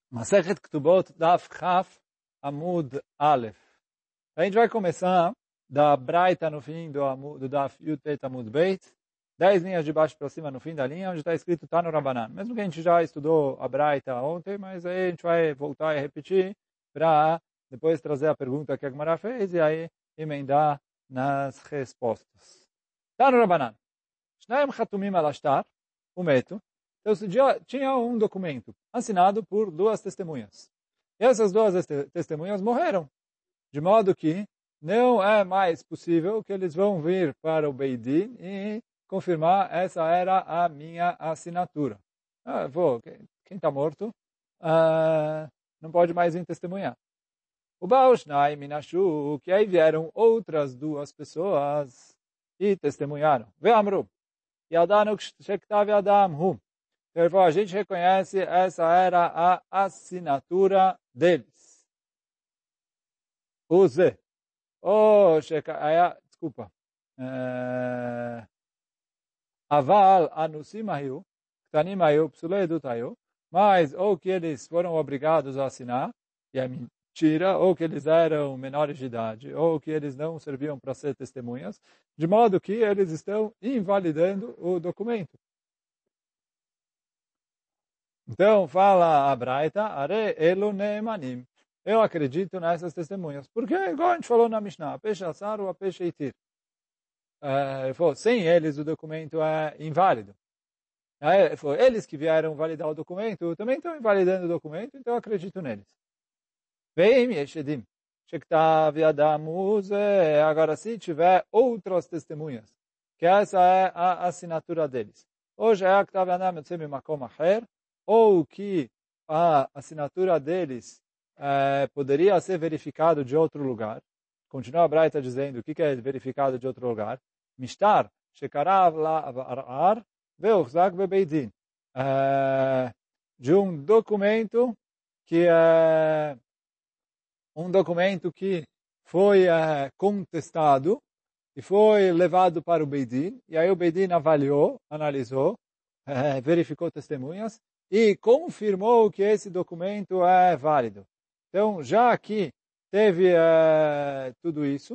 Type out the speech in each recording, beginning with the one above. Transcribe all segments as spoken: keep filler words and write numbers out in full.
Masechet Ketubot Daf Chaf Amud Aleph. A gente vai começar da Braita no fim do, do Daf Yud Pet Amud Beit, dez linhas de baixo para cima no fim da linha, onde está escrito Tanu Rabanan. Mesmo que a gente já estudou a Braita ontem, mas aí a gente vai voltar e repetir para depois trazer a pergunta que a Gemara fez e aí emendar nas respostas. Tanu Rabanan. Shnaim Chatumim Alashtar, o meto. Então, tinha um documento assinado por duas testemunhas. E essas duas testemunhas morreram. De modo que não é mais possível que eles vão vir para o Beidin e confirmar essa era a minha assinatura. Ah, vou, quem está morto ah, não pode mais vir testemunhar. O Baal Shnai Minashu, que aí vieram outras duas pessoas e testemunharam. Ve'amru, Yadanu Shektav Yadam Hu. Ele falou, a gente reconhece, essa era a assinatura deles. O Z. Oh, desculpa. Aval anusim ayu, ktanim ayu, psulei dut ayu, mas ou que eles foram obrigados a assinar, e é mentira, ou que eles eram menores de idade, ou que eles não serviam para ser testemunhas, de modo que eles estão invalidando o documento. Então, fala a Braita, Are elo neemanim. Eu acredito nessas testemunhas. Porque, igual a gente falou na Mishnah, a peixe assar ou a peixe itir. É, falou, sem eles o documento é inválido. É, falou, eles que vieram validar o documento também estão invalidando o documento, então eu acredito neles. Vem, Yeshedim. Shektav Yadam Use. Agora, se tiver outras testemunhas, que essa é a assinatura deles. Hoje é a Ktav Yadam Yotzei Makom Acher, ou que a assinatura deles eh, poderia ser verificado de outro lugar. Continua a Braita dizendo o que é verificado de outro lugar. Mishtar, shekarav la'arar, ve'uchzak bebeidin. De um documento que é um documento que foi eh, contestado e foi levado para o Beidin, e aí o Beidin avaliou, analisou, eh, verificou testemunhas, e confirmou que esse documento é válido. Então, já que teve uh, tudo isso,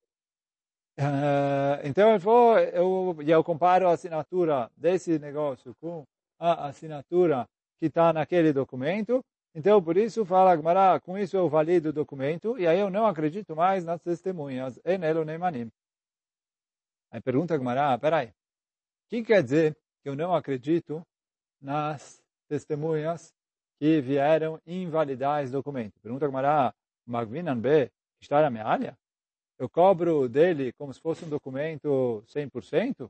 uh, então ele falou, eu, eu comparo a assinatura desse negócio com a assinatura que está naquele documento, então por isso fala Gemara, com isso eu valido o documento, e aí eu não acredito mais nas testemunhas, enelo neimanim. Aí pergunta Gemara, peraí, o que quer dizer que eu não acredito nas testemunhas que vieram invalidar esse documento? Pergunta Gemara, Magvinan B, história mealha? Eu cobro dele como se fosse um documento cem por cento?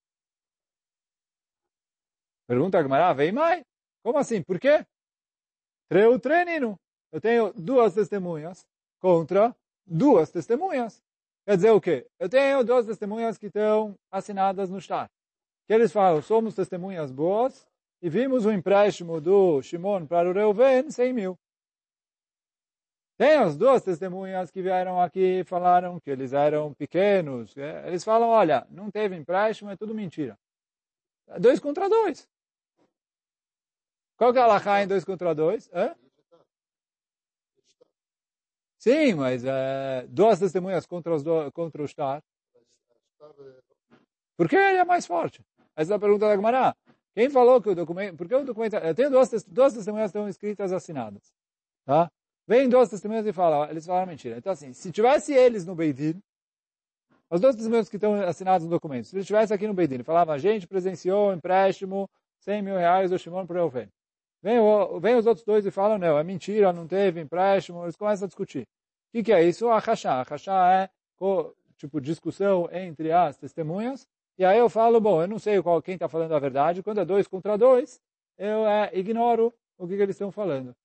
Pergunta Gemara, vem mais? Como assim? Por quê? Treu treinino. Eu tenho duas testemunhas contra duas testemunhas. Quer dizer o quê? Eu tenho duas testemunhas que estão assinadas no shtar. Que eles falam, somos testemunhas boas, e vimos o empréstimo do Shimon para o Reuven, cem mil. Tem as duas testemunhas que vieram aqui e falaram que eles eram pequenos. Eles falam, olha, não teve empréstimo, é tudo mentira. Dois contra dois. Qual que é a alahá em dois contra dois? Hã? Sim, mas é, duas testemunhas contra, os do, contra o shtar. Por que ele é mais forte? Essa é a pergunta da Gemara. Quem falou que o documento... Porque o documento... Eu tenho duas, duas testemunhas que estão escritas assinadas. Tá? Vem duas testemunhas e falam... Eles falaram mentira. Então, assim, se tivesse eles no Beidin, as duas testemunhas que estão assinadas no documento, se eles estivessem aqui no Beidin, falavam, a gente presenciou o empréstimo, cem mil reais do Shimon para o Reuven. Vem, vem os outros dois e falam, não, é mentira, não teve empréstimo. Eles começam a discutir. O que, que é isso? A Hashá. A Hashá é, tipo, discussão entre as testemunhas. E aí eu falo, bom, eu não sei qual, quem está falando a verdade. Quando é dois contra dois, eu é, ignoro o que, que eles estão falando.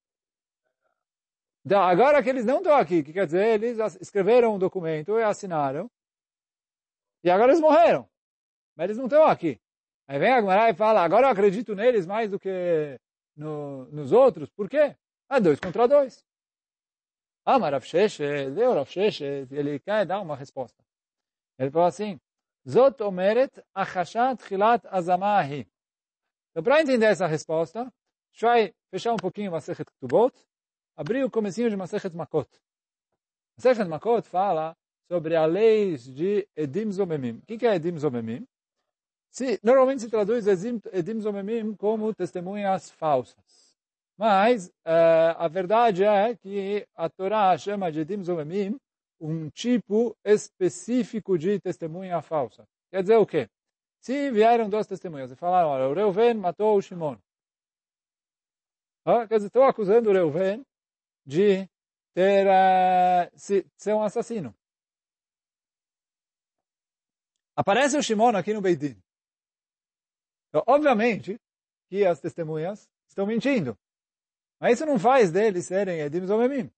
Então, agora que eles não estão aqui, que quer dizer, eles escreveram um documento e assinaram. E agora eles morreram. Mas eles não estão aqui. Aí vem a Gemara e fala, agora eu acredito neles mais do que no, nos outros. Por quê? É dois contra dois. Ah, mas Rav Sheshet, deu Rav Sheshet, ele quer dar uma resposta. Ele fala assim, Zot omeret achashat chilat azamahi. Então, para entender essa resposta, gente vai fechar um pouquinho Masechet Ketubot, abrir o comecinho de Masechet Makot. Masechet Makot fala sobre a lei de Edim Zomemim. O que é Edim Zomemim? Se, normalmente se traduz Edim Zomemim como testemunhas falsas. Mas uh, a verdade é que a Torá chama de Edim Zomemim um tipo específico de testemunha falsa. Quer dizer o quê? Se vieram duas testemunhas e falaram, olha, o Reuven matou o Shimon. Ah, quer dizer, estou acusando o Reuven de ter, uh, se, ser um assassino. Aparece o Shimon aqui no Beit Din. Então, obviamente, que as testemunhas estão mentindo. Mas isso não faz deles serem Edim Zomemim.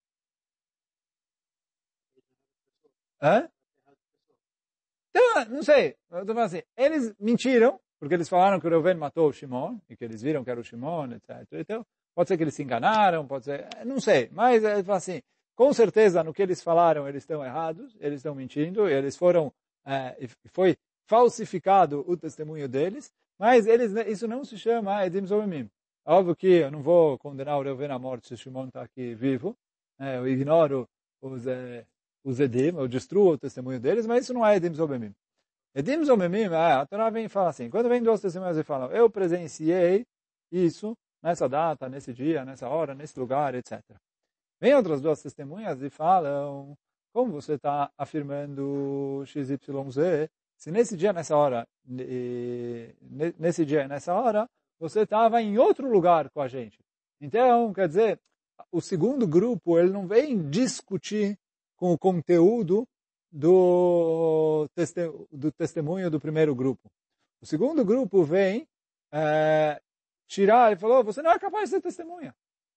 Hã? Então, não sei. Eu tô falando assim, eles mentiram, porque eles falaram que o Reuven matou o Shimon, e que eles viram que era o Shimon, etcétera. Então, pode ser que eles se enganaram, pode ser... Não sei. Mas, assim, com certeza, no que eles falaram, eles estão errados, eles estão mentindo, eles foram... É, foi falsificado o testemunho deles, mas eles, isso não se chama Edim Zomemim. Óbvio que eu não vou condenar o Reuven à morte se o Shimon está aqui vivo. É, eu ignoro os, é, os Edim, eu destruo o testemunho deles, mas isso não é Edim Zomemim. Edim Zomemim, é, a Torá vem e fala assim, quando vem duas testemunhas e falam, eu presenciei isso nessa data, nesse dia, nessa hora, nesse lugar, etcétera. Vem outras duas testemunhas e falam, como você está afirmando X Y Z, se nesse dia, nessa hora, nesse dia, nessa hora, você estava em outro lugar com a gente. Então, quer dizer, o segundo grupo, ele não vem discutir com o conteúdo do, teste, do testemunho do primeiro grupo. O segundo grupo vem é, tirar, ele falou, você não é capaz de ser testemunha.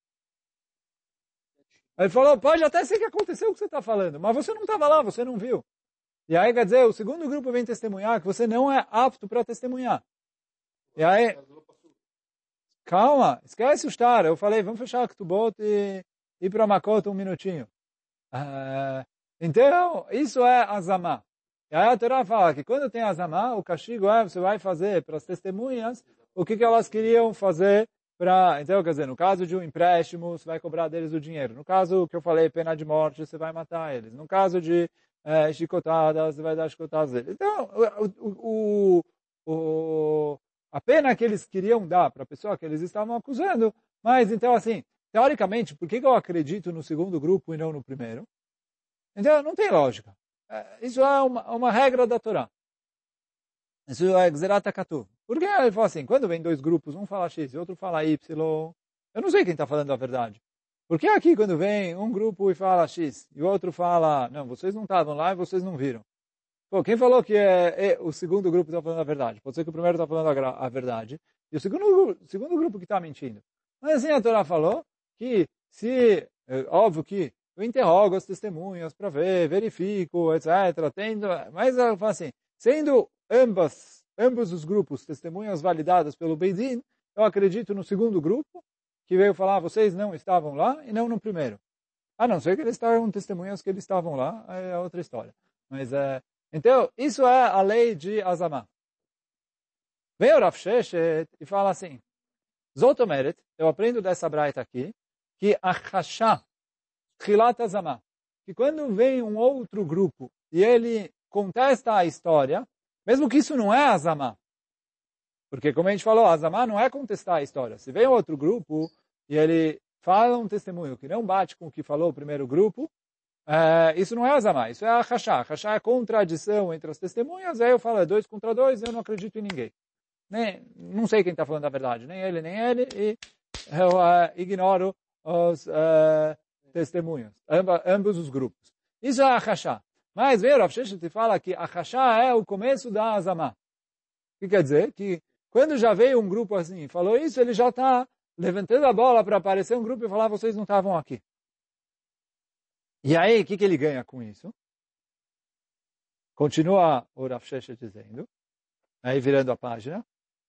Ele falou, pode até ser que aconteceu o que você está falando, mas você não estava lá, você não viu. E aí, quer dizer, o segundo grupo vem testemunhar que você não é apto para testemunhar. E aí, calma, esquece o estar. Eu falei, vamos fechar a Ketubot e ir para Makot um minutinho. Uh, então, isso é azamá. E aí a Torá fala que quando tem azamá, o castigo é, você vai fazer para as testemunhas o que, que elas queriam fazer para... Então, quer dizer, no caso de um empréstimo, você vai cobrar deles o dinheiro. No caso que eu falei, pena de morte, você vai matar eles. No caso de é, chicotadas, você vai dar chicotadas deles. Então, o, o, o, a pena que eles queriam dar para a pessoa que eles estavam acusando, mas então, assim, teoricamente, por que, que eu acredito no segundo grupo e não no primeiro? Então, não tem lógica. Isso é uma, uma regra da Torá. Isso é Gzerat HaKatuv. Porque ele fala assim, quando vem dois grupos, um fala X e outro fala Y, eu não sei quem está falando a verdade. Porque aqui, quando vem um grupo e fala X, e o outro fala, não, vocês não estavam lá e vocês não viram. Pô, quem falou que é, é o segundo grupo está falando a verdade? Pode ser que o primeiro está falando a, a verdade, e o segundo, o segundo grupo que está mentindo. Mas assim a Torá falou que se, é, óbvio que eu interrogo as testemunhas para ver, verifico, etcétera. Tendo, mas ela fala assim, sendo ambas, ambos os grupos testemunhas validadas pelo Beit Din, eu acredito no segundo grupo, que veio falar, vocês não estavam lá, e não no primeiro. A não ser que eles estavam testemunhas que eles estavam lá, é outra história. Mas, é, então, isso é a lei de Azamá. Vem o Rav Sheshet e fala assim, Zotomeret, eu aprendo dessa braita aqui, que a Chashá, Chilat Azamá, que quando vem um outro grupo e ele contesta a história, mesmo que isso não é Azamá, porque como a gente falou, Azamá não é contestar a história. Se vem outro grupo e ele fala um testemunho que não bate com o que falou o primeiro grupo, é, isso não é Azamá, isso é a Chashá. A Chashá é a contradição entre as testemunhas, aí eu falo, é dois contra dois, eu não acredito em ninguém. Nem, não sei quem está falando a verdade, nem ele, nem ele, e eu uh, ignoro os uh, testemunhas, amba, ambos os grupos. Isso é a Chashá. Mas veio o Rav Sheshet e fala que a Chashá é o começo da Azamá. O que quer dizer? Que quando já veio um grupo assim e falou isso, ele já está levantando a bola para aparecer um grupo e falar, vocês não estavam aqui. E aí, o que, que ele ganha com isso? Continua o Rav Sheshet dizendo, aí virando a página,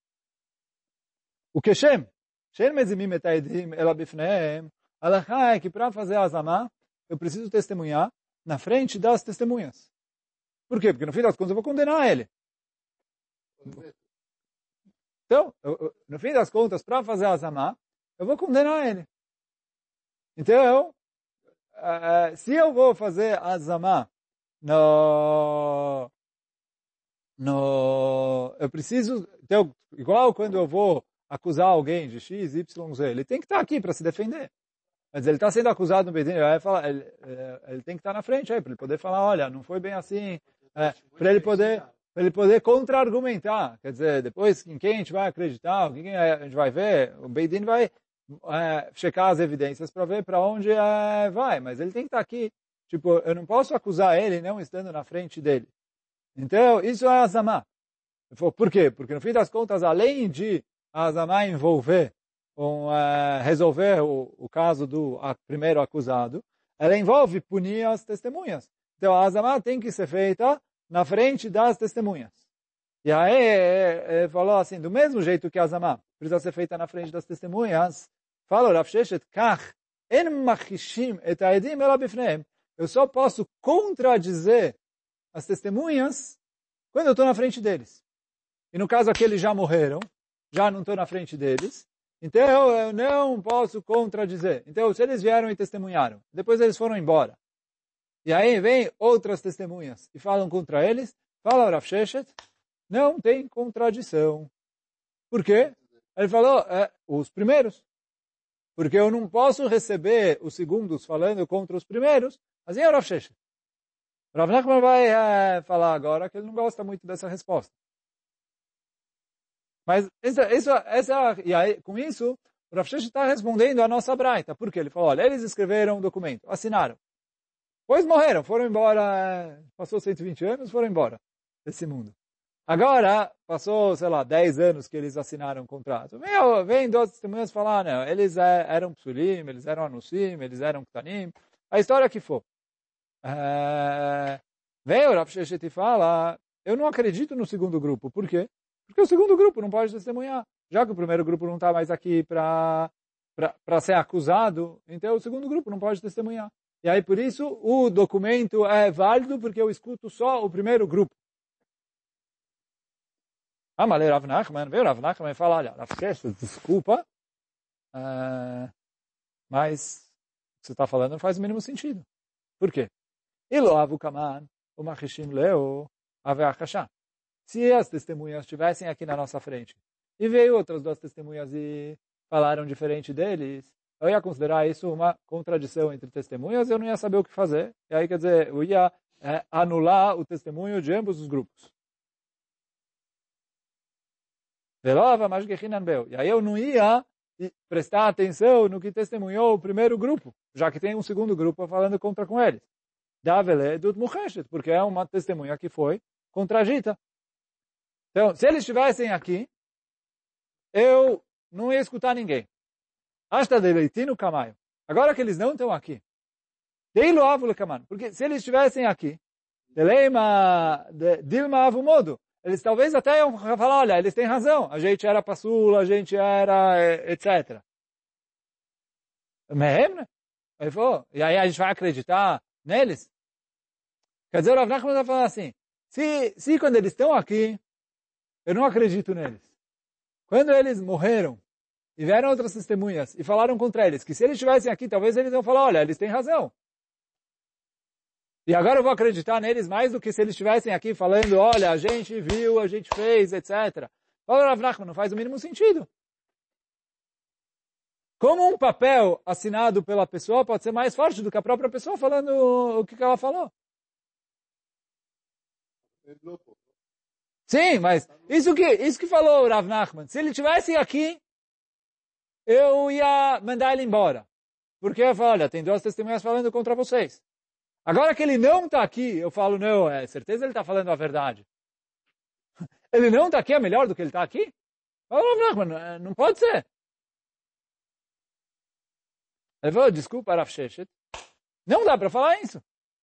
o Keshem, Shem mezimim et haedim ela bifnehem, a halachá é que para fazer a Azamá, eu preciso testemunhar na frente das testemunhas. Por quê? Porque no fim das contas eu vou condenar ele. Então, eu, eu, no fim das contas, para fazer a Azamá, eu vou condenar ele. Então, uh, se eu vou fazer azamá no, no, eu preciso, então, igual quando eu vou acusar alguém de X, Y, Z, ele tem que estar aqui para se defender. Mas ele está sendo acusado no Bedin, ele, vai falar, ele, ele tem que estar na frente aí, para ele poder falar, olha, não foi bem assim, é, para ele poder, para ele poder contra-argumentar. Quer dizer, depois em quem a gente vai acreditar, quem a gente vai ver, o Bedin vai é, checar as evidências para ver para onde é, vai, mas ele tem que estar aqui. Tipo, eu não posso acusar ele não estando na frente dele. Então, isso é azamá. Por quê? Porque no fim das contas, além de azamá envolver um, uh, resolver o, o caso do a, primeiro acusado, ela envolve punir as testemunhas. Então, a azamá tem que ser feita na frente das testemunhas. E aí, ele falou assim, do mesmo jeito que a azamá precisa ser feita na frente das testemunhas, fala Rav Sheshet, kach, en machishim et haedim ela bifneim. Eu só posso contradizer as testemunhas quando eu estou na frente deles. E no caso aqui eles já morreram, já não estou na frente deles, então eu não posso contradizer. Então se eles vieram e testemunharam, depois eles foram embora. E aí vem outras testemunhas e falam contra eles, fala Rav Sheshet, não tem contradição. Por quê? Ele falou, é, os primeiros. Porque eu não posso receber os segundos falando contra os primeiros, assim é o Rav Sheshet. Rav Nachman vai é, falar agora que ele não gosta muito dessa resposta. Mas essa, essa, essa, e aí, com isso, o Rav Sheshet está respondendo a nossa braita. Por quê? Ele falou, olha, eles escreveram um documento, assinaram. Depois morreram, foram embora, passou cento e vinte anos, foram embora desse mundo. Agora, passou, sei lá, dez anos que eles assinaram um contrato. Vem, vem duas testemunhas falar, não, eles é, eram psulim, eles eram anusim, eles eram ktanim, a história que for. É, vem o Rav Sheshet e fala, eu não acredito no segundo grupo. Por quê? Porque o segundo grupo não pode testemunhar. Já que o primeiro grupo não está mais aqui para para ser acusado, então o segundo grupo não pode testemunhar. E aí, por isso, o documento é válido porque eu escuto só o primeiro grupo. Ah, mas Rav Nachman, veio Rav Nachman e fala, olha, Rav Sheshet, desculpa, uh, mas o que você está falando não faz o mínimo sentido. Por quê? Iloavu kaman, o machishim leo, aveachashá. Se as testemunhas estivessem aqui na nossa frente, e veio outras duas testemunhas e falaram diferente deles, eu ia considerar isso uma contradição entre testemunhas, eu não ia saber o que fazer. E aí, quer dizer, eu ia é, anular o testemunho de ambos os grupos. E aí eu não ia prestar atenção no que testemunhou o primeiro grupo, já que tem um segundo grupo falando contra com eles. Porque é uma testemunha que foi contradita. Então, se eles estivessem aqui, eu não ia escutar ninguém. Hasta de leitino camaio. Agora que eles não estão aqui, porque se eles estivessem aqui, dilma avumodo, eles talvez até iam falar, olha, eles têm razão, a gente era passula, a gente era, etcétera. Ele falou, e aí a gente vai acreditar neles? Quer dizer, o Rav Nachman vai falar assim, se, se quando eles estão aqui, eu não acredito neles. Quando eles morreram, e vieram outras testemunhas, e falaram contra eles, que se eles estivessem aqui, talvez eles iam falar, olha, eles têm razão. E agora eu vou acreditar neles mais do que se eles estivessem aqui falando, olha, a gente viu, a gente fez, etcétera. Fala, Rav Nachman, não faz o mínimo sentido. Como um papel assinado pela pessoa pode ser mais forte do que a própria pessoa falando o que ela falou? Sim, mas isso que, isso que falou o Rav Nachman, se ele estivesse aqui, eu ia mandar ele embora. Porque eu falo, olha, tem duas testemunhas falando contra vocês. Agora que ele não está aqui, eu falo, não, é certeza ele está falando a verdade. Ele não está aqui, é melhor do que ele está aqui? Fala, não, não pode ser. Ele falou, desculpa, Rav Sheshet, não dá para falar isso.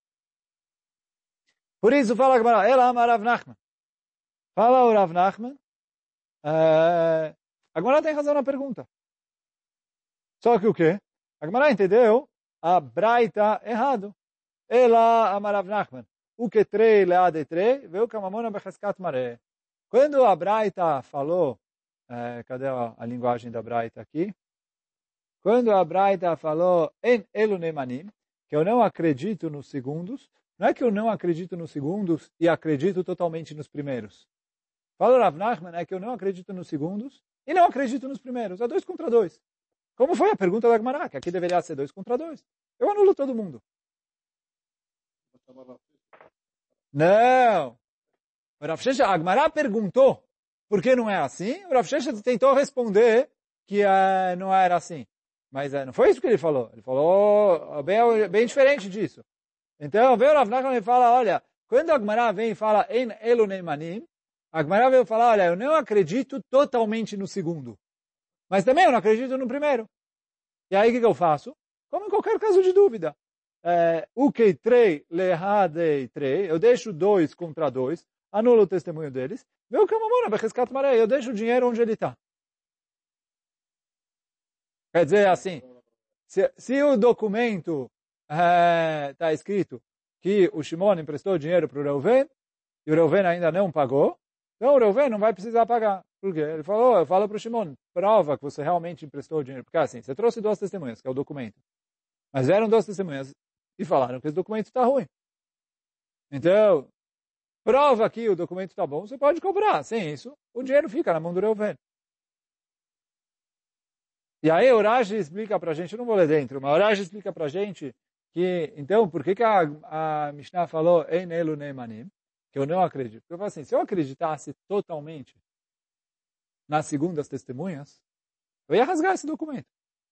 Por isso, fala a ela ama Rav Nachman. Fala o Rav Nachman, uh, agora tem razão na pergunta. Só que o quê? A Gemara entendeu a braita errado. Ela ama Rav Nachman. O que trei leade trei, veio kamamona bechaskat maré. Quando a braita falou, uh, cadê a, a linguagem da braita aqui? quando a Braita falou en elu nemanim, que eu não acredito nos segundos, não é que eu não acredito nos segundos e acredito totalmente nos primeiros. Fala Rav Nachman, é que eu não acredito nos segundos e não acredito nos primeiros. É dois contra dois. Como foi a pergunta da Gemara, que aqui deveria ser dois contra dois. Eu anulo todo mundo. Não. O Rav Sheshet, a Gemara perguntou por que não é assim. O Rav Sheshet tentou responder que uh, não era assim. Mas uh, não foi isso que ele falou. Ele falou bem, bem diferente disso. Então, veio o Rav Nachman e fala, olha, quando a Gemara vem e fala en elu neimanim, a Gemara veio falar, olha, eu não acredito totalmente no segundo. Mas também eu não acredito no primeiro. E aí o que, que eu faço? Como em qualquer caso de dúvida. O que três lehadei três, eu deixo dois contra dois, anulo o testemunho deles, meu que eu deixo o dinheiro onde ele está. Quer dizer assim, se, se o documento está é, escrito que o Shimon emprestou dinheiro para o Reuven, e o Reuven ainda não pagou, então o Reuven não vai precisar pagar. Por quê? Ele falou, eu falo para o Shimon, prova que você realmente emprestou o dinheiro. Porque assim, você trouxe duas testemunhas, que é o documento. Mas eram duas testemunhas e falaram que esse documento está ruim. Então, prova que o documento está bom, você pode cobrar. Sem isso, o dinheiro fica na mão do Reuven. E aí o Rashi explica para a gente, eu não vou ler dentro, mas o Rashi explica para a gente que, então, por que, que a, a Mishnah falou Ein elu neimanim? Que eu não acredito. Porque eu falo assim, se eu acreditasse totalmente nas segundas testemunhas, eu ia rasgar esse documento.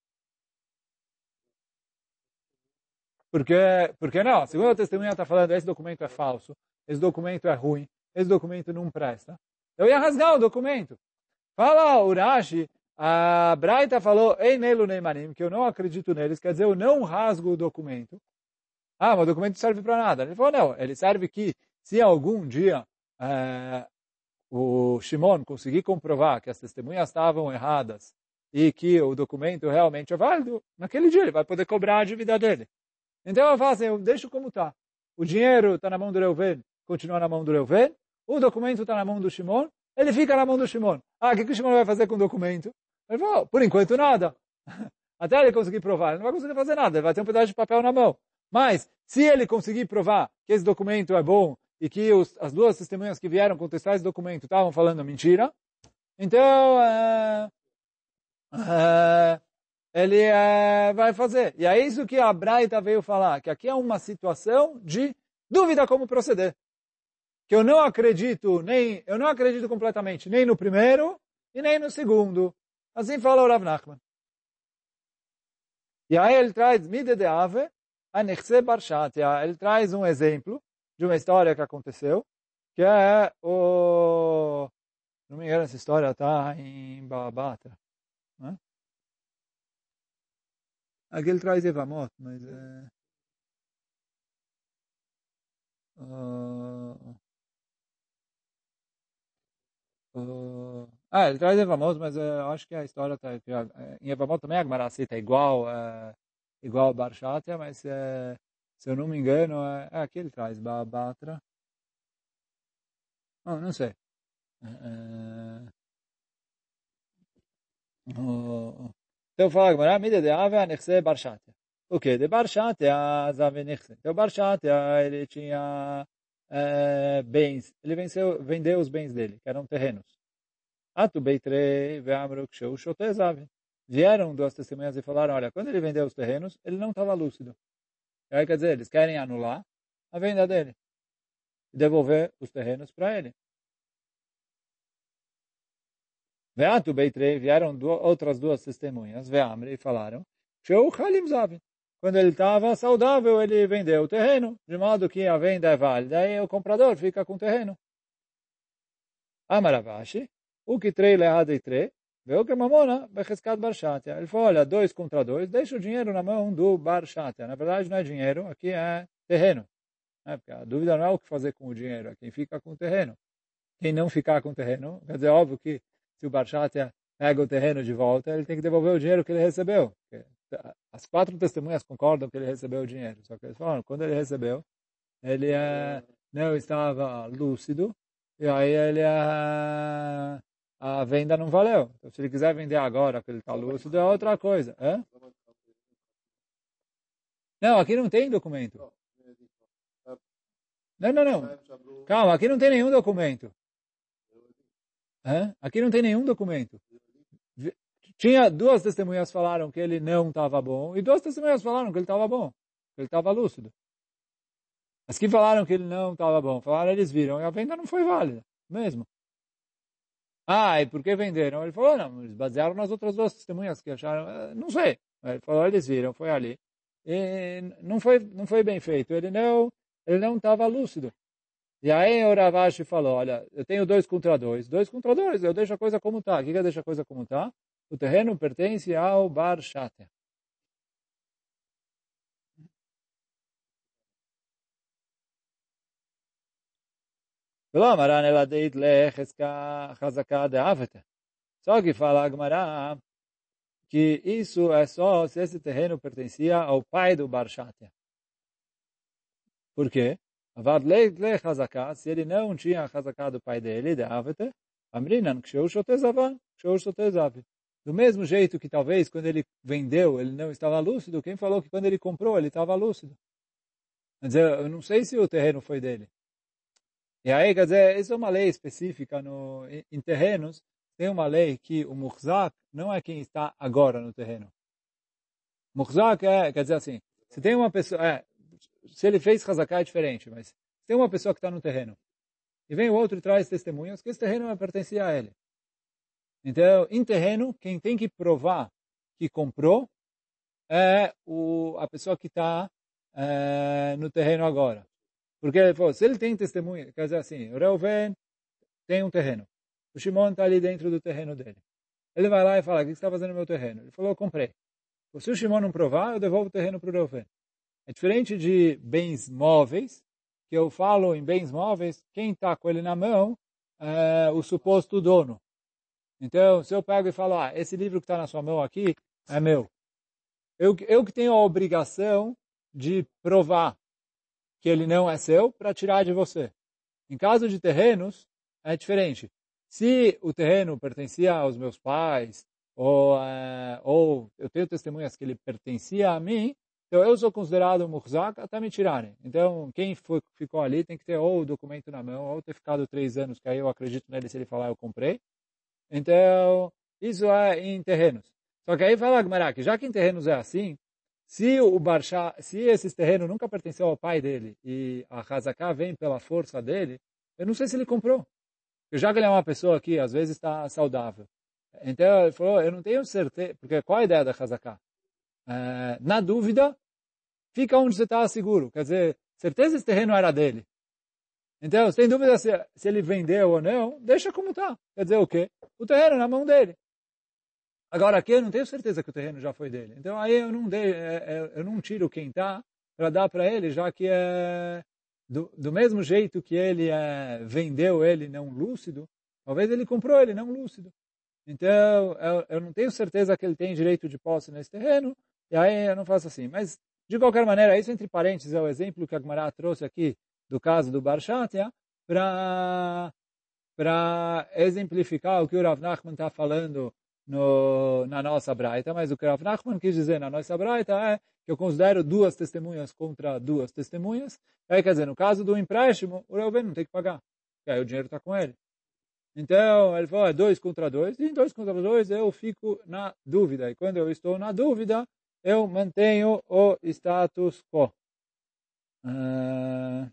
Porque, porque não, a segunda testemunha está falando, esse documento é falso, esse documento é ruim, esse documento não presta. Eu ia rasgar o documento. Fala o Rashi, a Braita falou, Ein elu neimanim, que eu não acredito neles, quer dizer, eu não rasgo o documento. Ah, mas o documento não serve para nada. Ele falou, não, ele serve que, se algum dia é, o Shimon conseguir comprovar que as testemunhas estavam erradas e que o documento realmente é válido, naquele dia ele vai poder cobrar a dívida dele. Então eu falo assim, eu deixo como está. O dinheiro está na mão do Reuven, continua na mão do Reuven. O documento está na mão do Shimon, ele fica na mão do Shimon. Ah, o que, que o Shimon vai fazer com o documento? Ele falou, por enquanto nada. Até ele conseguir provar, ele não vai conseguir fazer nada, ele vai ter um pedaço de papel na mão. Mas, se ele conseguir provar que esse documento é bom e que os, as duas testemunhas que vieram contestar esse documento estavam falando mentira, então é, é, ele é, vai fazer. E é isso que a Braita veio falar, que aqui é uma situação de dúvida como proceder. Que eu não acredito, nem, eu não acredito completamente, nem no primeiro e nem no segundo. Assim fala o Rav Nachman. E aí ele traz Mide de Ave, a Nechse Barshatia. Ele traz um exemplo de uma história que aconteceu, que é o... Não me engano, essa história está em Babatra. Né? Aqui ele traz Evamot, mas... É... Uh... Uh... Ah, ele traz Evamot, mas uh, eu acho que a história está... Em Evamot também a Gemara cita igual, uh, igual Barshatia, mas uh, se eu não me engano, uh, é aqui ele traz Babatra. Oh, não sei. Uh... Uh... Então fala Gemara, Mida de Ave, Nechse Barshatia. O que? De Barshatia, Zave Nechse. Então Barshatia, ele tinha uh, bens, ele venceu, vendeu os bens dele, que eram terrenos. Atu Beitrei, Veamru Ksheu, Shote Zave. Vieram duas testemunhas e falaram, olha, quando ele vendeu os terrenos, ele não estava lúcido. E aí quer dizer, eles querem anular a venda dele e devolver os terrenos para ele. Veatu Beitrei, vieram duas, outras duas testemunhas, Veamri, e falaram, Sheu Chalim Zave. Quando ele estava saudável, ele vendeu o terreno, de modo que a venda é válida e o comprador fica com o terreno. Amaravashi, o que trei lehada e trei, veio que mamona, becheskat barshatia. Ele falou, olha, dois contra dois, deixa o dinheiro na mão do barshatia. Na verdade não é dinheiro, aqui é terreno. É, porque a dúvida não é o que fazer com o dinheiro, é quem fica com o terreno. Quem não ficar com o terreno, quer dizer, óbvio que se o barshatia pega o terreno de volta, ele tem que devolver o dinheiro que ele recebeu. As quatro testemunhas concordam que ele recebeu o dinheiro. Só que eles falaram, quando ele recebeu, ele é, não estava lúcido, e aí ele é, a venda não valeu. Então, se ele quiser vender agora que ele está lúcido, é outra coisa. É? Não, aqui não tem documento. Não, não, não. Calma, aqui não tem nenhum documento. Hã? Aqui não tem nenhum documento. Tinha duas testemunhas falaram que ele não estava bom e duas testemunhas falaram que ele estava bom, que ele estava lúcido. As que falaram que ele não estava bom, falaram eles viram e a venda não foi válida, mesmo. Ah, e por que venderam? Ele falou, não, eles basearam nas outras duas testemunhas que acharam, não sei. Ele falou, eles viram, foi ali. E não foi, não foi bem feito, ele não ele não estava lúcido. E aí o Rav Ashi falou, olha, eu tenho dois contra dois, dois contra dois, eu deixo a coisa como está. O que que eu deixo a coisa como está? O terreno pertence ao Bar Shater. Só que fala a Gemara que isso é só se esse terreno pertencia ao pai do Bar Shater. Por quê? Se ele não tinha a Hazaká do pai dele, de Avete, Amrinan, do mesmo jeito que talvez quando ele vendeu ele não estava lúcido, quem falou que quando ele comprou ele estava lúcido? Quer dizer, eu não sei se o terreno foi dele. E aí, quer dizer, isso é uma lei específica no, em, em terrenos. Tem uma lei que o muhzak não é quem está agora no terreno. Muhzak é, quer dizer assim, se tem uma pessoa, é, se ele fez Hazaká é diferente, mas se tem uma pessoa que está no terreno e vem o outro e traz testemunhas que esse terreno pertencia a ele. Então, em terreno, quem tem que provar que comprou é o, a pessoa que está é, no terreno agora. Porque pô, se ele tem testemunha, quer dizer assim, o Reuven tem um terreno. O Shimon está ali dentro do terreno dele. Ele vai lá e fala, o que você está fazendo no meu terreno? Ele falou, eu comprei. Se o Shimon não provar, eu devolvo o terreno para o Reuven. É diferente de bens móveis, que eu falo em bens móveis, quem está com ele na mão é o suposto dono. Então, se eu pego e falo, ah, esse livro que está na sua mão aqui é meu. Eu, eu que tenho a obrigação de provar que ele não é seu para tirar de você. Em caso de terrenos, é diferente. Se o terreno pertencia aos meus pais, ou, é, ou eu tenho testemunhas que ele pertencia a mim, então eu sou considerado muhzak até me tirarem. Então, quem foi, ficou ali tem que ter ou o documento na mão, ou ter ficado três anos, que aí eu acredito nele se ele falar eu comprei. Então, isso é em terrenos. Só que aí fala Gemara que já que em terrenos é assim, se o Barsha, se esses terrenos nunca pertenceu ao pai dele e a Hazaká vem pela força dele, eu não sei se ele comprou. Porque já que ele é uma pessoa que às vezes está saudável. Então ele falou, eu não tenho certeza, porque qual a ideia da Hazaká? É, na dúvida, fica onde você está seguro. Quer dizer, certeza esse terreno era dele. Então, sem dúvida se, se ele vendeu ou não, deixa como está. Quer dizer o quê? O terreno é na mão dele. Agora aqui eu não tenho certeza que o terreno já foi dele. Então aí eu não, dei, eu não tiro quem está para dar para ele, já que é do, do mesmo jeito que ele é, vendeu ele não lúcido, talvez ele comprou ele não lúcido. Então eu, eu não tenho certeza que ele tem direito de posse nesse terreno, e aí eu não faço assim. Mas de qualquer maneira, isso entre parênteses é o exemplo que a Gemara trouxe aqui do caso do Bar Shatia, para para exemplificar o que o Rav Nachman está falando no, na nossa braita, mas o que o Rav Nachman quis dizer na nossa braita é que eu considero duas testemunhas contra duas testemunhas. Aí, quer dizer, no caso do empréstimo, o Reuven não tem que pagar, porque aí o dinheiro está com ele. Então, ele falou, é dois contra dois, e em dois contra dois eu fico na dúvida. E quando eu estou na dúvida, eu mantenho o status quo. Uh...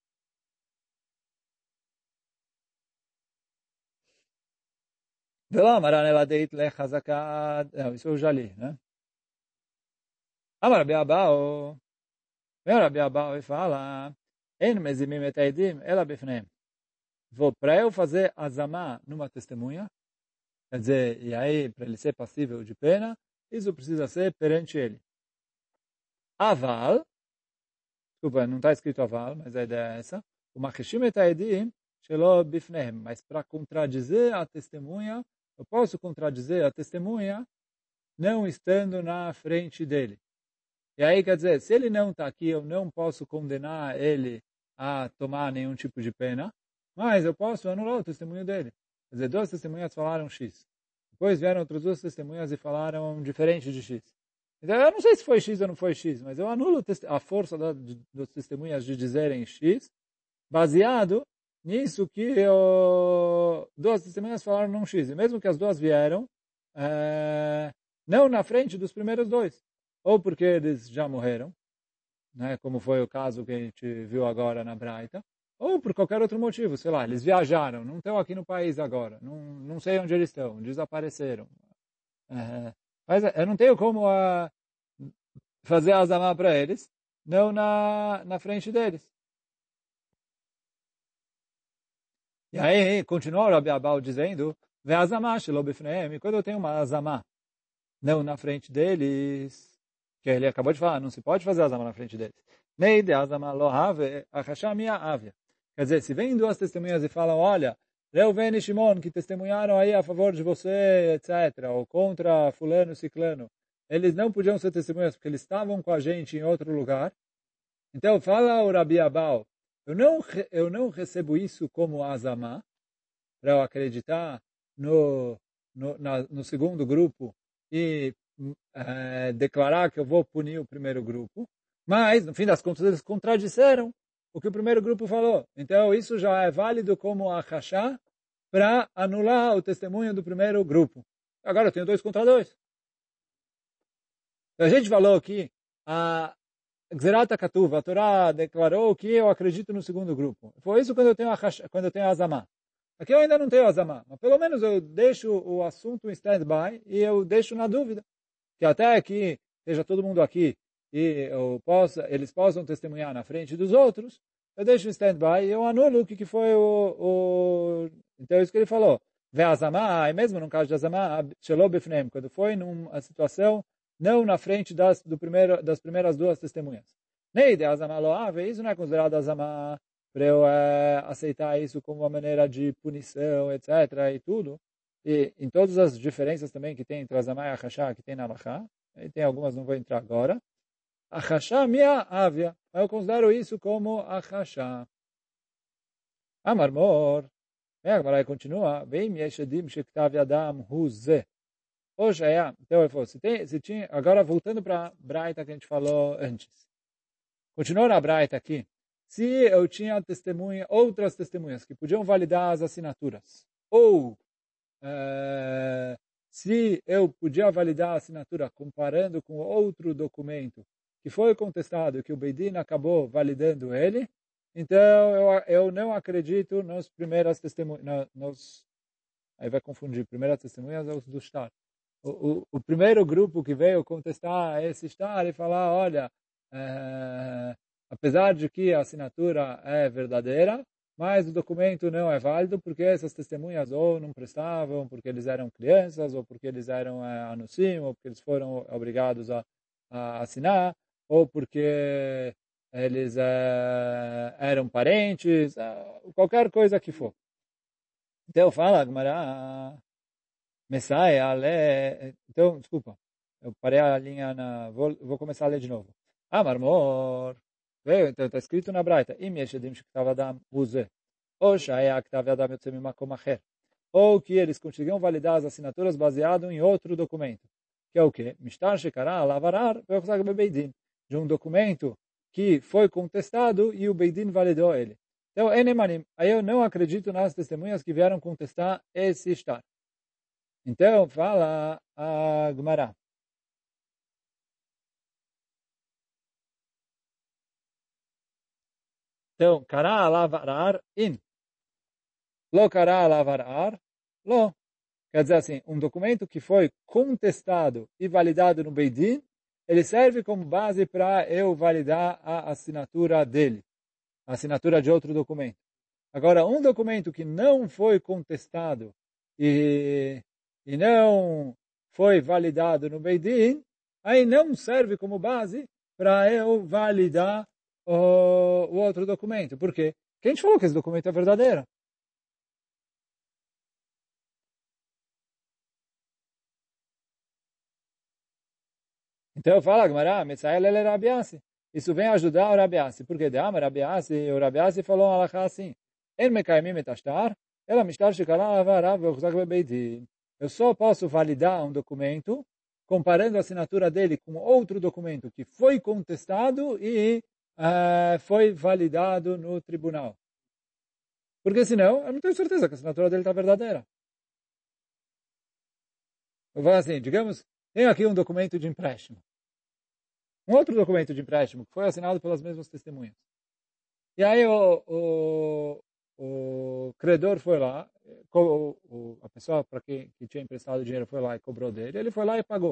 ולא אמרן אלא דאית לחזקה, isso eu já li, né? אמר רבי אבאו, ורבי אבאו fala, אין מזימים את העדים אלא בפניהם. Para eu fazer azamá numa testemunha, quer dizer, e aí, para ele ser passível de pena, isso precisa ser perante ele. Aval, desculpa, não está escrito aval, mas a ideia é essa, o machishim et haedim shelo bifnehem, mas para contradizer a testemunha, eu posso contradizer a testemunha não estando na frente dele. E aí, quer dizer, se ele não está aqui, eu não posso condenar ele a tomar nenhum tipo de pena, mas eu posso anular o testemunho dele. Quer dizer, duas testemunhas falaram X. Depois vieram outras duas testemunhas e falaram diferente de X. Então, eu não sei se foi X ou não foi X, mas eu anulo a força da, de, das testemunhas de dizerem X, baseado nisso que eu, duas testemunhas falaram num X. E mesmo que as duas vieram, é, não na frente dos primeiros dois. Ou porque eles já morreram, né, como foi o caso que a gente viu agora na Braita, ou por qualquer outro motivo, sei lá, eles viajaram, não estão aqui no país agora, não, não sei onde eles estão, desapareceram. É, mas eu não tenho como uh, fazer azamá para eles, não na, na frente deles. E aí, continua o Rabi Abau dizendo, Ve azamá shelo bifneem, quando eu tenho uma azamá, não na frente deles, que ele acabou de falar, não se pode fazer azamá na frente deles. Neide azamá lo have, achashá minha avia. Quer dizer, se vêm duas testemunhas e falam, olha, Reuven e Shimon, que testemunharam aí a favor de você, etcétera, ou contra fulano e ciclano, eles não podiam ser testemunhas porque eles estavam com a gente em outro lugar. Então, fala o Rabi Abau, eu não, eu não recebo isso como azamá, para eu acreditar no, no, na, no segundo grupo e é, declarar que eu vou punir o primeiro grupo, mas, no fim das contas, eles contradisseram o que o primeiro grupo falou. Então, isso já é válido como a rachá para anular o testemunho do primeiro grupo. Agora eu tenho dois contra dois. A gente falou que a Gzerat HaKatuv, a Torá declarou que eu acredito no segundo grupo. Foi isso quando eu tenho a, quando eu tenho a Azamá. Aqui eu ainda não tenho Azamá, mas pelo menos eu deixo o assunto em stand-by e eu deixo na dúvida. Que até que esteja todo mundo aqui e eu possa, eles possam testemunhar na frente dos outros, eu deixo em stand-by e eu anulo o que, que foi o, o... Então é isso que ele falou. Vê Azamá, e mesmo no caso de Azamá, Shelo Bifneim, quando foi numa situação não na frente das, do primeiro, das primeiras duas testemunhas. Neide Azamá Loave, isso não é considerado Azamá para eu é, aceitar isso como uma maneira de punição, etcétera, e tudo. E em todas as diferenças também que tem entre Azamá e Achashá, que tem na Alachá, e tem algumas, não vou entrar agora. Achashá minha avia, eu considero isso como Achashá. Amarmor, agora continua, Veim yeshedim shektav yadam huze. Hoje é, então ele falou, se, tem, se tinha, agora voltando para a Braita que a gente falou antes. Continuou na Braita aqui. Se eu tinha testemunha, outras testemunhas que podiam validar as assinaturas, ou é, se eu podia validar a assinatura comparando com outro documento que foi contestado, que o Beidin acabou validando ele, então eu, eu não acredito nas primeiras testemunhas, nos, aí vai confundir, primeiras testemunhas é os do Shtar. O, o, o primeiro grupo que veio contestar esse Shtar e falar, olha, é, apesar de que a assinatura é verdadeira, mas o documento não é válido porque essas testemunhas ou não prestavam, porque eles eram crianças, ou porque eles eram é, anusim, ou porque eles foram obrigados a, a assinar, ou porque eles é, eram parentes, é, qualquer coisa que for. Então fala, Gmará, Messiah, Ale... Então, desculpa, eu parei a linha na... Vou, vou começar a ler de novo. Ah, marmor. Veio, então está escrito na Braita. Im yeshedim shektav adam uze. Ou shaya ktav adam yotzei mimakom acher. Ou que eles conseguiam validar as assinaturas baseado em outro documento. Que é o quê? Mishtar shekara lavarar ve'ochzag bebeidin. De um documento que foi contestado e o Beidin validou ele. Então, enemanim. Aí eu não acredito nas testemunhas que vieram contestar esse shtar. Então, fala a Gemara. Então, kará lavarar in. Lo kará lavarar, lo. Quer dizer assim, um documento que foi contestado e validado no Beidin, ele serve como base para eu validar a assinatura dele. A assinatura de outro documento. Agora, um documento que não foi contestado e, e não foi validado no Beidin, aí não serve como base para eu validar o, o outro documento. Por quê? Porque a gente falou que esse documento é verdadeiro. Então fala, Gmará, Metzael ele Rabiasi. Isso vem ajudar o Rabiasi. Por quê? Deama Rabiasi, o Rabiasi falou um alachá assim. En mekaimim et ashtar, ela mishtar shekara avarav ve'uchzak bebeidin. Eu só posso validar um documento comparando a assinatura dele com outro documento que foi contestado e uh, foi validado no tribunal. Porque senão, eu não tenho certeza que a assinatura dele está verdadeira. Eu vou assim, digamos, tenho aqui um documento de empréstimo. Um outro documento de empréstimo que foi assinado pelas mesmas testemunhas. E aí o, o, o credor foi lá, o, o, a pessoa para quem que tinha emprestado o dinheiro foi lá e cobrou dele, ele foi lá e pagou.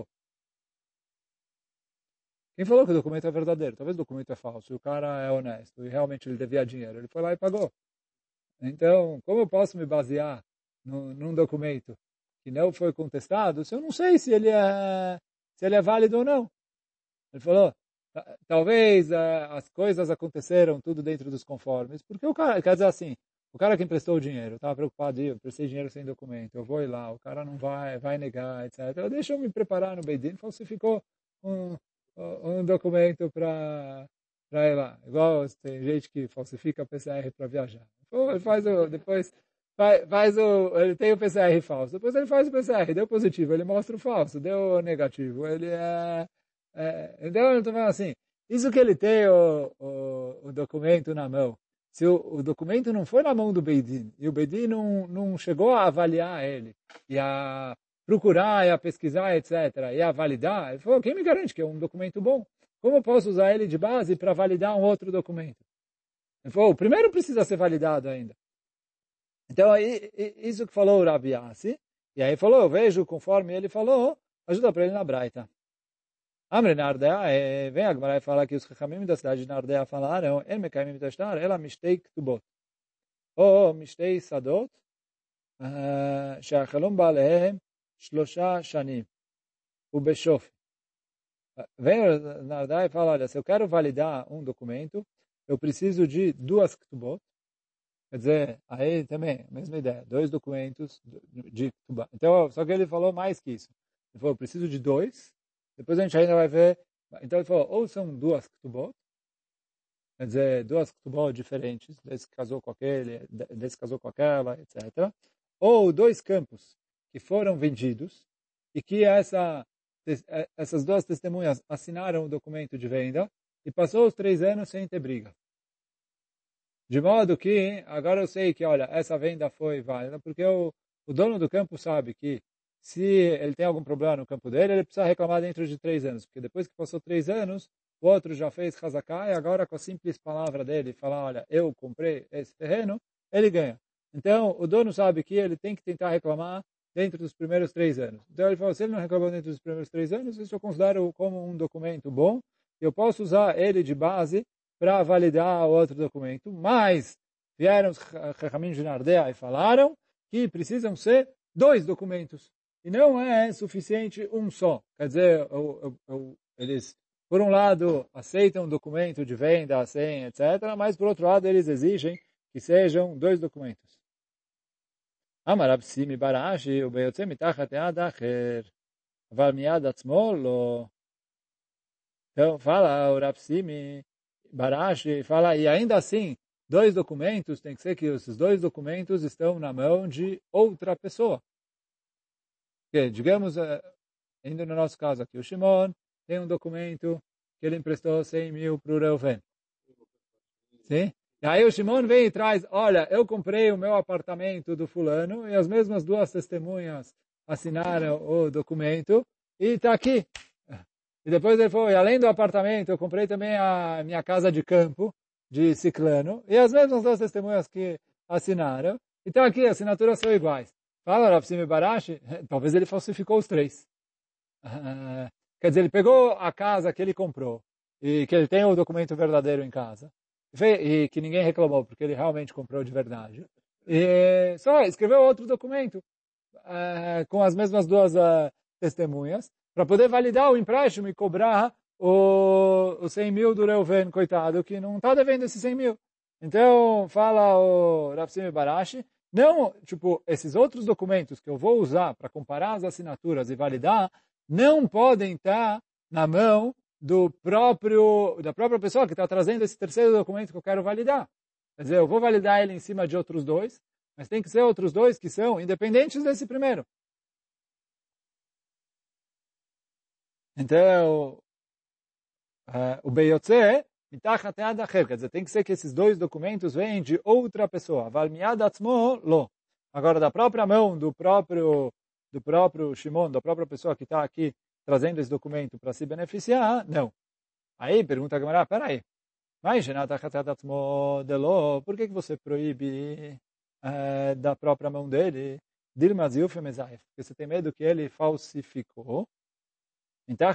Quem falou que o documento é verdadeiro? Talvez o documento é falso, e o cara é honesto, e realmente ele devia dinheiro, ele foi lá e pagou. Então, como eu posso me basear no, num documento que não foi contestado, se eu não sei se ele é, se ele é válido ou não? Ele falou, talvez uh, as coisas aconteceram tudo dentro dos conformes, porque o cara, quer dizer assim, o cara que emprestou o dinheiro, estava preocupado, eu prestei dinheiro sem documento, eu vou ir lá, o cara não vai, vai negar, etcétera. Deixa eu me preparar no Beidin, falsificou um, um documento para ir lá. Igual tem gente que falsifica P C R para viajar. Ele faz o, depois faz, faz o, ele tem o P C R falso, depois ele faz o P C R, deu positivo, ele mostra o falso, deu negativo, ele é... É, então, eu estou falando assim, isso que ele tem o, o, o documento na mão, se o, o documento não foi na mão do Beidin, e o Beidin não, não chegou a avaliar ele, e a procurar, e a pesquisar, etcétera, e a validar, ele falou, quem me garante que é um documento bom? Como eu posso usar ele de base para validar um outro documento? Ele falou, o primeiro precisa ser validado ainda. Então, aí, isso que falou o Rabi Yassi, e aí falou, eu vejo conforme ele falou, ajuda para ele na Braita. Amre Nardea, vem a Gemara e fala que os Chachamim da cidade de Nardea falaram, El Mekayim Mitashtar, ela Mishtei Ktubot. Ou Mishtei Sadot, שהחלום בעליהם שלושה שנים, ובשופי. Vem Nardea e fala, olha, se eu quero validar um documento, eu preciso de duas Ktubot. Quer dizer, aí também, a mesma ideia, dois documentos de Ktubot. Então, só que ele falou mais que isso. Ele falou, eu preciso de dois. Depois a gente ainda vai ver. Então ele falou, ou são duas Ktubot, quer dizer, duas Ktubot diferentes, desse casou com aquele, desse casou com aquela, etcétera. Ou dois campos que foram vendidos e que essa, essas duas testemunhas assinaram o documento de venda e passou os três anos sem ter briga. De modo que, agora eu sei que, olha, essa venda foi válida, porque o, o dono do campo sabe que se ele tem algum problema no campo dele, ele precisa reclamar dentro de três anos. Porque depois que passou três anos, o outro já fez Hazaká e agora com a simples palavra dele, falar, olha, eu comprei esse terreno, ele ganha. Então, o dono sabe que ele tem que tentar reclamar dentro dos primeiros três anos. Então, ele falou, se ele não reclamou dentro dos primeiros três anos, isso eu considero como um documento bom. Eu posso usar ele de base para validar o outro documento. Mas, vieram os Chachamim de Nardea e falaram que precisam ser dois documentos. E não é suficiente um só. Quer dizer, eu, eu, eu, eles, por um lado, aceitam um documento de venda, sem, etcétera, mas, por outro lado, eles exigem que sejam dois documentos. Amar Absimi Barashi, o Beyotze Mitachat Ead Acher, Aval Miad Atzmo Lo. Então, fala o Absimi Barashi, fala, e ainda assim, dois documentos, tem que ser que esses dois documentos estão na mão de outra pessoa. Que, digamos, indo no nosso caso aqui, o Shimon tem um documento que ele emprestou cem mil para o Reuven. Sim? E aí o Shimon vem e traz, olha, eu comprei o meu apartamento do fulano e as mesmas duas testemunhas assinaram o documento e está aqui. E depois ele falou, e além do apartamento, eu comprei também a minha casa de campo de Ciclano e as mesmas duas testemunhas que assinaram. E está aqui, as assinaturas são iguais. Fala, Rav Simi Barashi, talvez ele falsificou os três. Uh, quer dizer, ele pegou a casa que ele comprou e que ele tem o documento verdadeiro em casa e que ninguém reclamou porque ele realmente comprou de verdade. E só escreveu outro documento uh, com as mesmas duas uh, testemunhas para poder validar o empréstimo e cobrar o, os cem mil do Reuven, coitado, que não está devendo esses cem mil. Então, fala o Rav Simi Barashi, não, tipo, esses outros documentos que eu vou usar para comparar as assinaturas e validar, não podem estar na mão do próprio, da própria pessoa que está trazendo esse terceiro documento que eu quero validar. Quer dizer, eu vou validar ele em cima de outros dois, mas tem que ser outros dois que são independentes desse primeiro. Então, uh, o Beyotze, mitachat yad acher, quer dizer, tem que ser que esses dois documentos vêm de outra pessoa. Val miyad atzmo, lo. Agora, da própria mão do próprio, do próprio Shimon, da própria pessoa que está aqui trazendo esse documento para se beneficiar, não. Aí, pergunta a Gemara, peraí, mas por que que você proíbe uh, da própria mão dele? Dilma zilfe mezaif, porque você tem medo que ele falsificou. Então,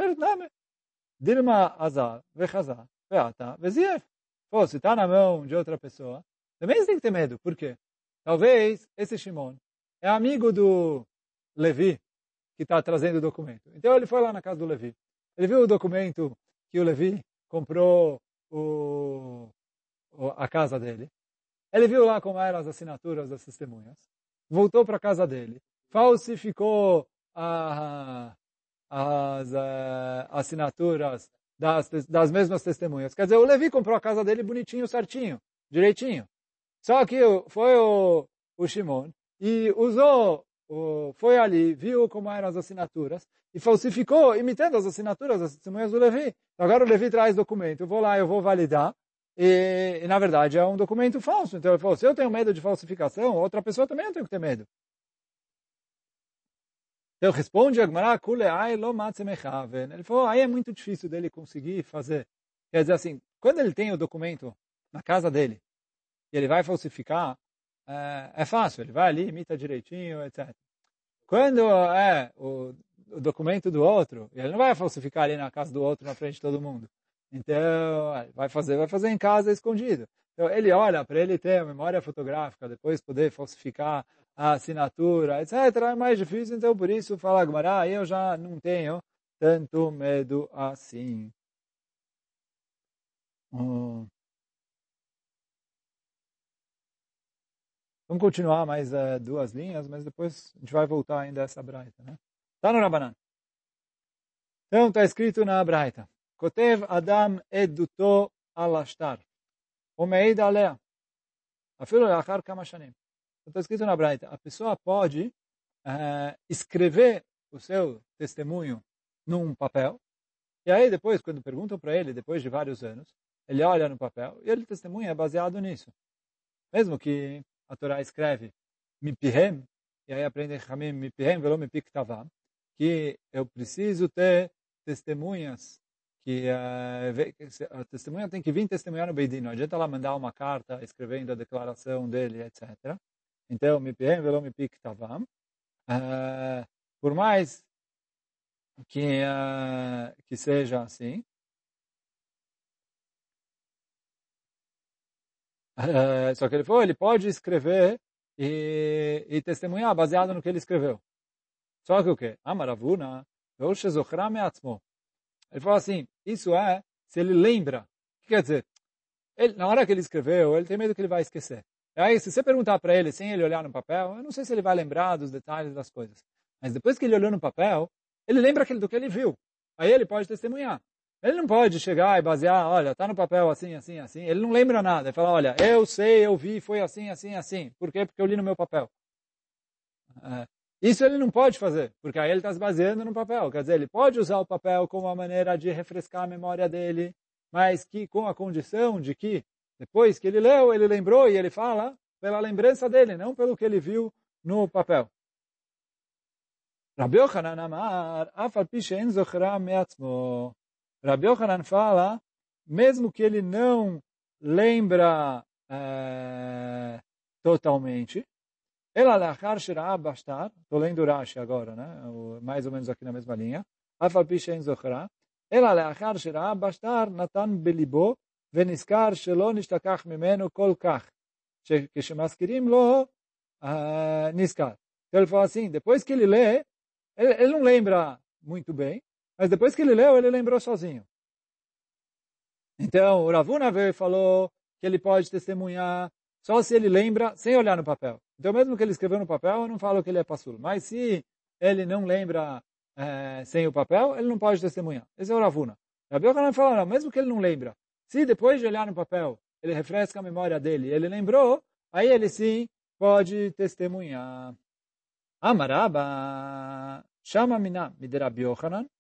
Dilma azar, vechazar, veata, vezief. Pô, se está na mão de outra pessoa, também você tem que ter medo. Por quê? Talvez esse Shimon é amigo do Levi, que está trazendo o documento. Então ele foi lá na casa do Levi. Ele viu o documento que o Levi comprou o, a casa dele. Ele viu lá como eram as assinaturas das testemunhas. Voltou para a casa dele. Falsificou a, as a, assinaturas das, das mesmas testemunhas. Quer dizer, o Levi comprou a casa dele bonitinho, certinho, direitinho. Só que foi o, o Shimon e usou, o, foi ali, viu como eram as assinaturas e falsificou, imitando as assinaturas das testemunhas do Levi. Então, agora o Levi traz documento, eu vou lá, eu vou validar. E, e, na verdade, é um documento falso. Então, ele falou, se eu tenho medo de falsificação, outra pessoa também não tem que ter medo. Então, responde a Gemara, ele falou, aí é muito difícil dele conseguir fazer. Quer dizer assim, quando ele tem o documento na casa dele, e ele vai falsificar, é, é fácil, ele vai ali, imita direitinho, etcétera. Quando é o, o documento do outro, ele não vai falsificar ali na casa do outro, na frente de todo mundo. Então, vai fazer, vai fazer em casa escondido. Então, ele olha para ele ter a memória fotográfica, depois poder falsificar a assinatura, etcétera. É mais difícil, então por isso fala Gemara, eu já não tenho tanto medo assim. Hum. Vamos continuar mais uh, duas linhas, mas depois a gente vai voltar ainda a essa braita, né? Tá no Rabanan. Então, está escrito na braita. Kotev Adam eduto alashtar. Omeid alea. Afilo leachar kama shanim. Está escrito na braita. A pessoa pode uh, escrever o seu testemunho num papel. E aí depois, quando perguntam para ele, depois de vários anos, ele olha no papel e ele testemunha baseado nisso. Mesmo que a Torá escreve mipihem, e aí aprende Chamim mipihem velo mipik tavam, que eu preciso ter testemunhas, que uh, a testemunha tem que vir testemunhar no Beidin, não adianta ela mandar uma carta escrevendo a declaração dele, etcétera. Então, mipihem velo mipik tavam, uh, por mais que, uh, que seja assim, Uh, só que ele falou, ele pode escrever e, e testemunhar baseado no que ele escreveu. Só que o quê? Amaravuna, ele falou assim, isso é se ele lembra. O que quer dizer? Ele, na hora que ele escreveu, ele tem medo que ele vai esquecer. E aí, se você perguntar para ele, sem ele olhar no papel, eu não sei se ele vai lembrar dos detalhes das coisas. Mas depois que ele olhou no papel, ele lembra do que ele viu. Aí ele pode testemunhar. Ele não pode chegar e basear, olha, está no papel assim, assim, assim. Ele não lembra nada. Ele fala, olha, eu sei, eu vi, foi assim, assim, assim. Por quê? Porque eu li no meu papel. É, isso ele não pode fazer, porque aí ele está se baseando no papel. Quer dizer, ele pode usar o papel como uma maneira de refrescar a memória dele, mas que com a condição de que, depois que ele leu, ele lembrou e ele fala pela lembrança dele, não pelo que ele viu no papel. Rabbi Yochanan amar, afal pi she'en zochra me'atzmo. Rabbi Yochanan fala, mesmo que ele não lembra é, totalmente, ela lachar shirah bastar, estou lendo Rashi agora, né? Mais ou menos aqui na mesma linha, afal pi she'en zochra, ela lachar shirah bastar natan belibo veniskar shelo nishtakach mimenu kol kach, כשמזכירים לו niskar. Então ele fala assim, depois que ele lê, ele, ele não lembra muito bem, mas depois que ele leu, ele lembrou sozinho. Então, o Ravuna veio e falou que ele pode testemunhar só se ele lembra, sem olhar no papel. Então, mesmo que ele escreveu no papel, eu não falo que ele é passul. Mas se ele não lembra é, sem o papel, ele não pode testemunhar. Esse é o Ravuna. Rabbi Yochanan fala, não, mesmo que ele não lembra, se depois de olhar no papel, ele refresca a memória dele, ele lembrou, aí ele sim pode testemunhar. Amaraba, chama mina, de Rabbi Yochanan,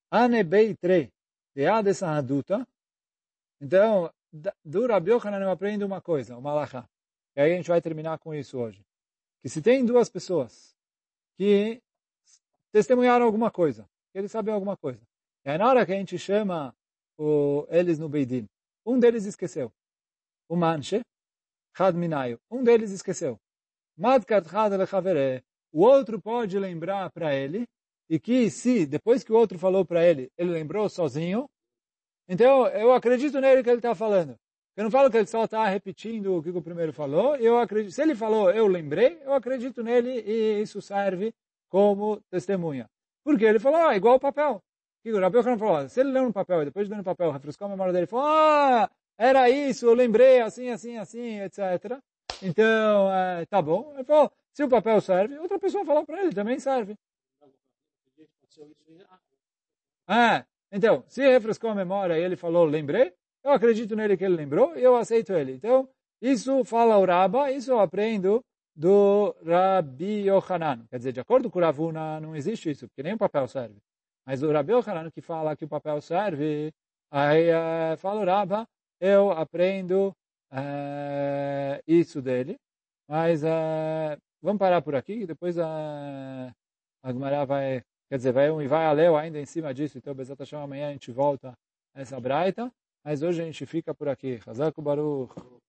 Anebeitre, de essa adulta. Então, do Rabi Yochanan eu aprendo uma coisa, uma alahá. E aí a gente vai terminar com isso hoje. Que se tem duas pessoas que testemunharam alguma coisa, que eles sabem alguma coisa. E aí na hora que a gente chama o, eles no Beidin, um deles esqueceu. O manche, Chad Minayo, um deles esqueceu. Madkat Chad Lechavere, o outro pode lembrar para ele, e que se, depois que o outro falou para ele, ele lembrou sozinho, então eu acredito nele que ele está falando. Eu não falo que ele só está repetindo o que o primeiro falou, eu acredito, se ele falou, eu lembrei, eu acredito nele e isso serve como testemunha. Porque ele falou, ah, igual o papel. O Rabi Yochanan falou, se ele leu no papel e depois de ler no papel, refrescou a memória dele, falou, ah, era isso, eu lembrei, assim, assim, assim, etcétera. Então, é, tá bom. Ele falou, se o papel serve, outra pessoa falou para ele, também serve. Ah, então, se refrescou a memória e ele falou, lembrei, eu acredito nele que ele lembrou e eu aceito ele. Então, isso fala o Rabba, isso eu aprendo do Rabi Yochanan. Quer dizer, de acordo com o Ravuna, não existe isso, porque nem o papel serve. Mas o Rabi Yochanan que fala que o papel serve, aí uh, fala o Rabba, eu aprendo uh, isso dele. Mas uh, vamos parar por aqui, e depois uh, a Gemara vai... Quer dizer, vai, vai a Leo ainda em cima disso, então Bezat Hashem amanhã a gente volta a essa braita, mas hoje a gente fica por aqui. Chazak Baruch.